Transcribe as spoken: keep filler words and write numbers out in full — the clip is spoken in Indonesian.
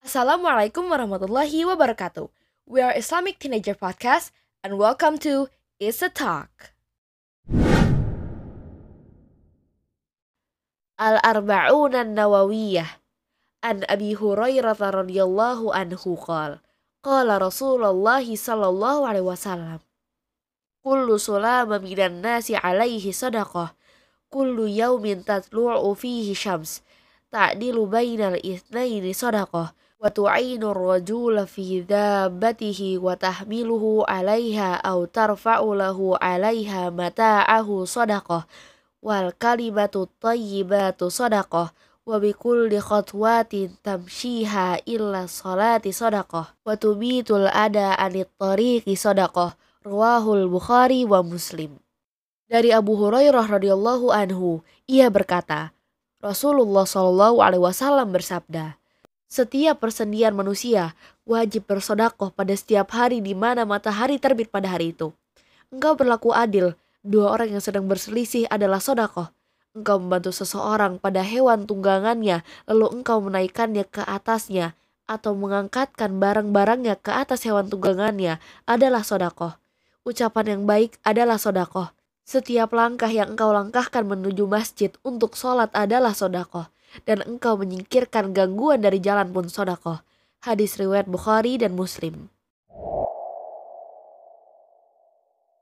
Assalamualaikum warahmatullahi wabarakatuh. We are Islamic Teenager Podcast and welcome to It's a Talk. Al-Arba'un an-Nawawiyah an Abi Hurairah radhiyallahu anhu qala qala Rasulullah sallallahu alaihi wasallam kullu sulama minan nasi alaihi sadaqah kullu yaumin tatlu'u fihi syams ta'dilu bainal itsnaini sadaqah wa tu'inu ar-rajula fi dhabbatihi wa tahmiluhu 'alaiha aw tarfa'u lahu 'alaiha mata'ahu sadaqah wal kalimatu thayyibatu sadaqah wa bikulli khatwatin tamshiha illa salati sadaqah wa tubitul ada anit tariqi sadaqah rawahul Bukhari wa Muslim. Dari Abu Hurairah radhiyallahu anhu, ia berkata, Rasulullah shallallahu alaihi wasallam bersabda, setiap persendian manusia wajib bersodakoh pada setiap hari di mana matahari terbit pada hari itu. Engkau berlaku adil, dua orang yang sedang berselisih adalah sodakoh. Engkau membantu seseorang pada hewan tunggangannya, lalu engkau menaikkannya ke atasnya, atau mengangkatkan barang-barangnya ke atas hewan tunggangannya adalah sodakoh. Ucapan yang baik adalah sodakoh. Setiap langkah yang engkau langkahkan menuju masjid untuk sholat adalah sodakoh. Dan engkau menyingkirkan gangguan dari jalan pun sodakoh. Hadis riwayat Bukhari dan Muslim.